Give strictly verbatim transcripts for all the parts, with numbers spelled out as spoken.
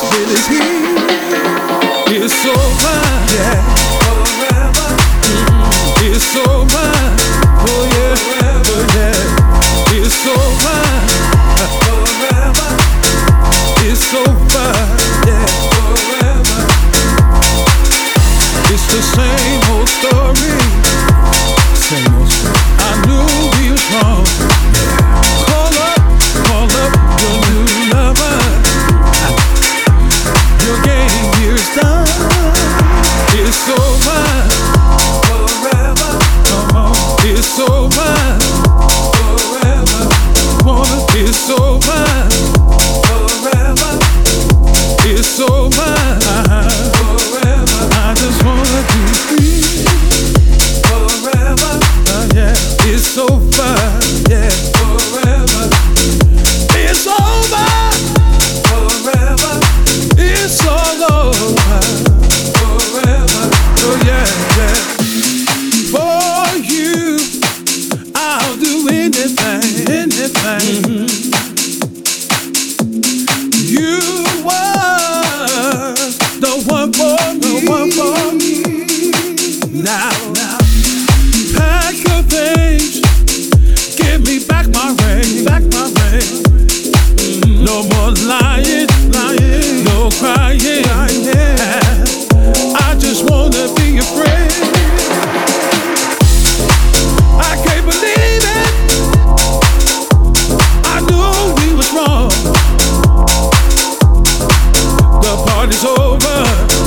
with his heat. It's over, yeah. Forever. Mm-hmm. It's over. Oh yeah, forever, yeah. It's over. Forever. It's over, yeah. Forever. It's the same old story. Same old story. I knew we was wrong. Yeah. Call up, call up your new lover. Your game here's done. It's over. Forever. Come on. It's over. Forever. Woman, it's over. Forever. It's over. Forever. I just wanna be free. Forever. Uh, yeah. It's over. Yeah. Forever. It's over. Forever. It's all over. Forever. Oh yeah, yeah. For you, I'll do anything, anything. Mm-hmm. You were the one for me, the one for me. Now, now, pack your things, give me back my ring, back my ring. Mm-hmm. No more lying, lying, no crying. Yeah. I just wanna be your friend. I can't believe it. I knew we was wrong. The party's over.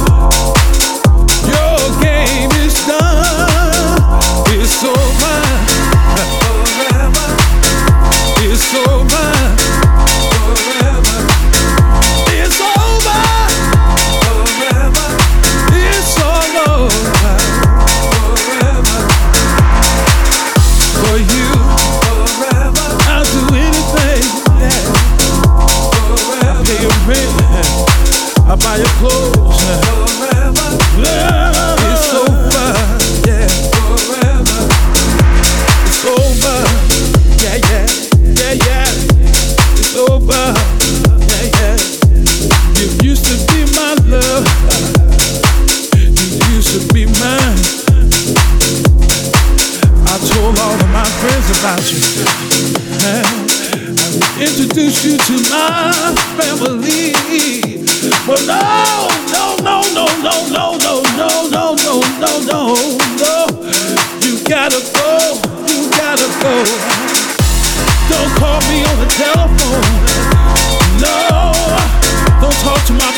Your game is done. It's over. Forever. It's over. Forever. It's over. Forever. It's all over. Forever. For you. Forever. I'll do anything. Yeah. Forever. Pay your rent. I buy your clothes. Forever. Love. It's over. Yeah. Forever. It's over. Yeah, yeah. Yeah, yeah. It's over. Yeah, yeah. You used to be my love. You used to be mine. I told all of my friends about you. I would introduce you to my family. But no, no, no, no, no, no, no, no, no, no, no, no, no. You gotta go. You gotta go. Don't call me on the telephone. No. Don't talk to my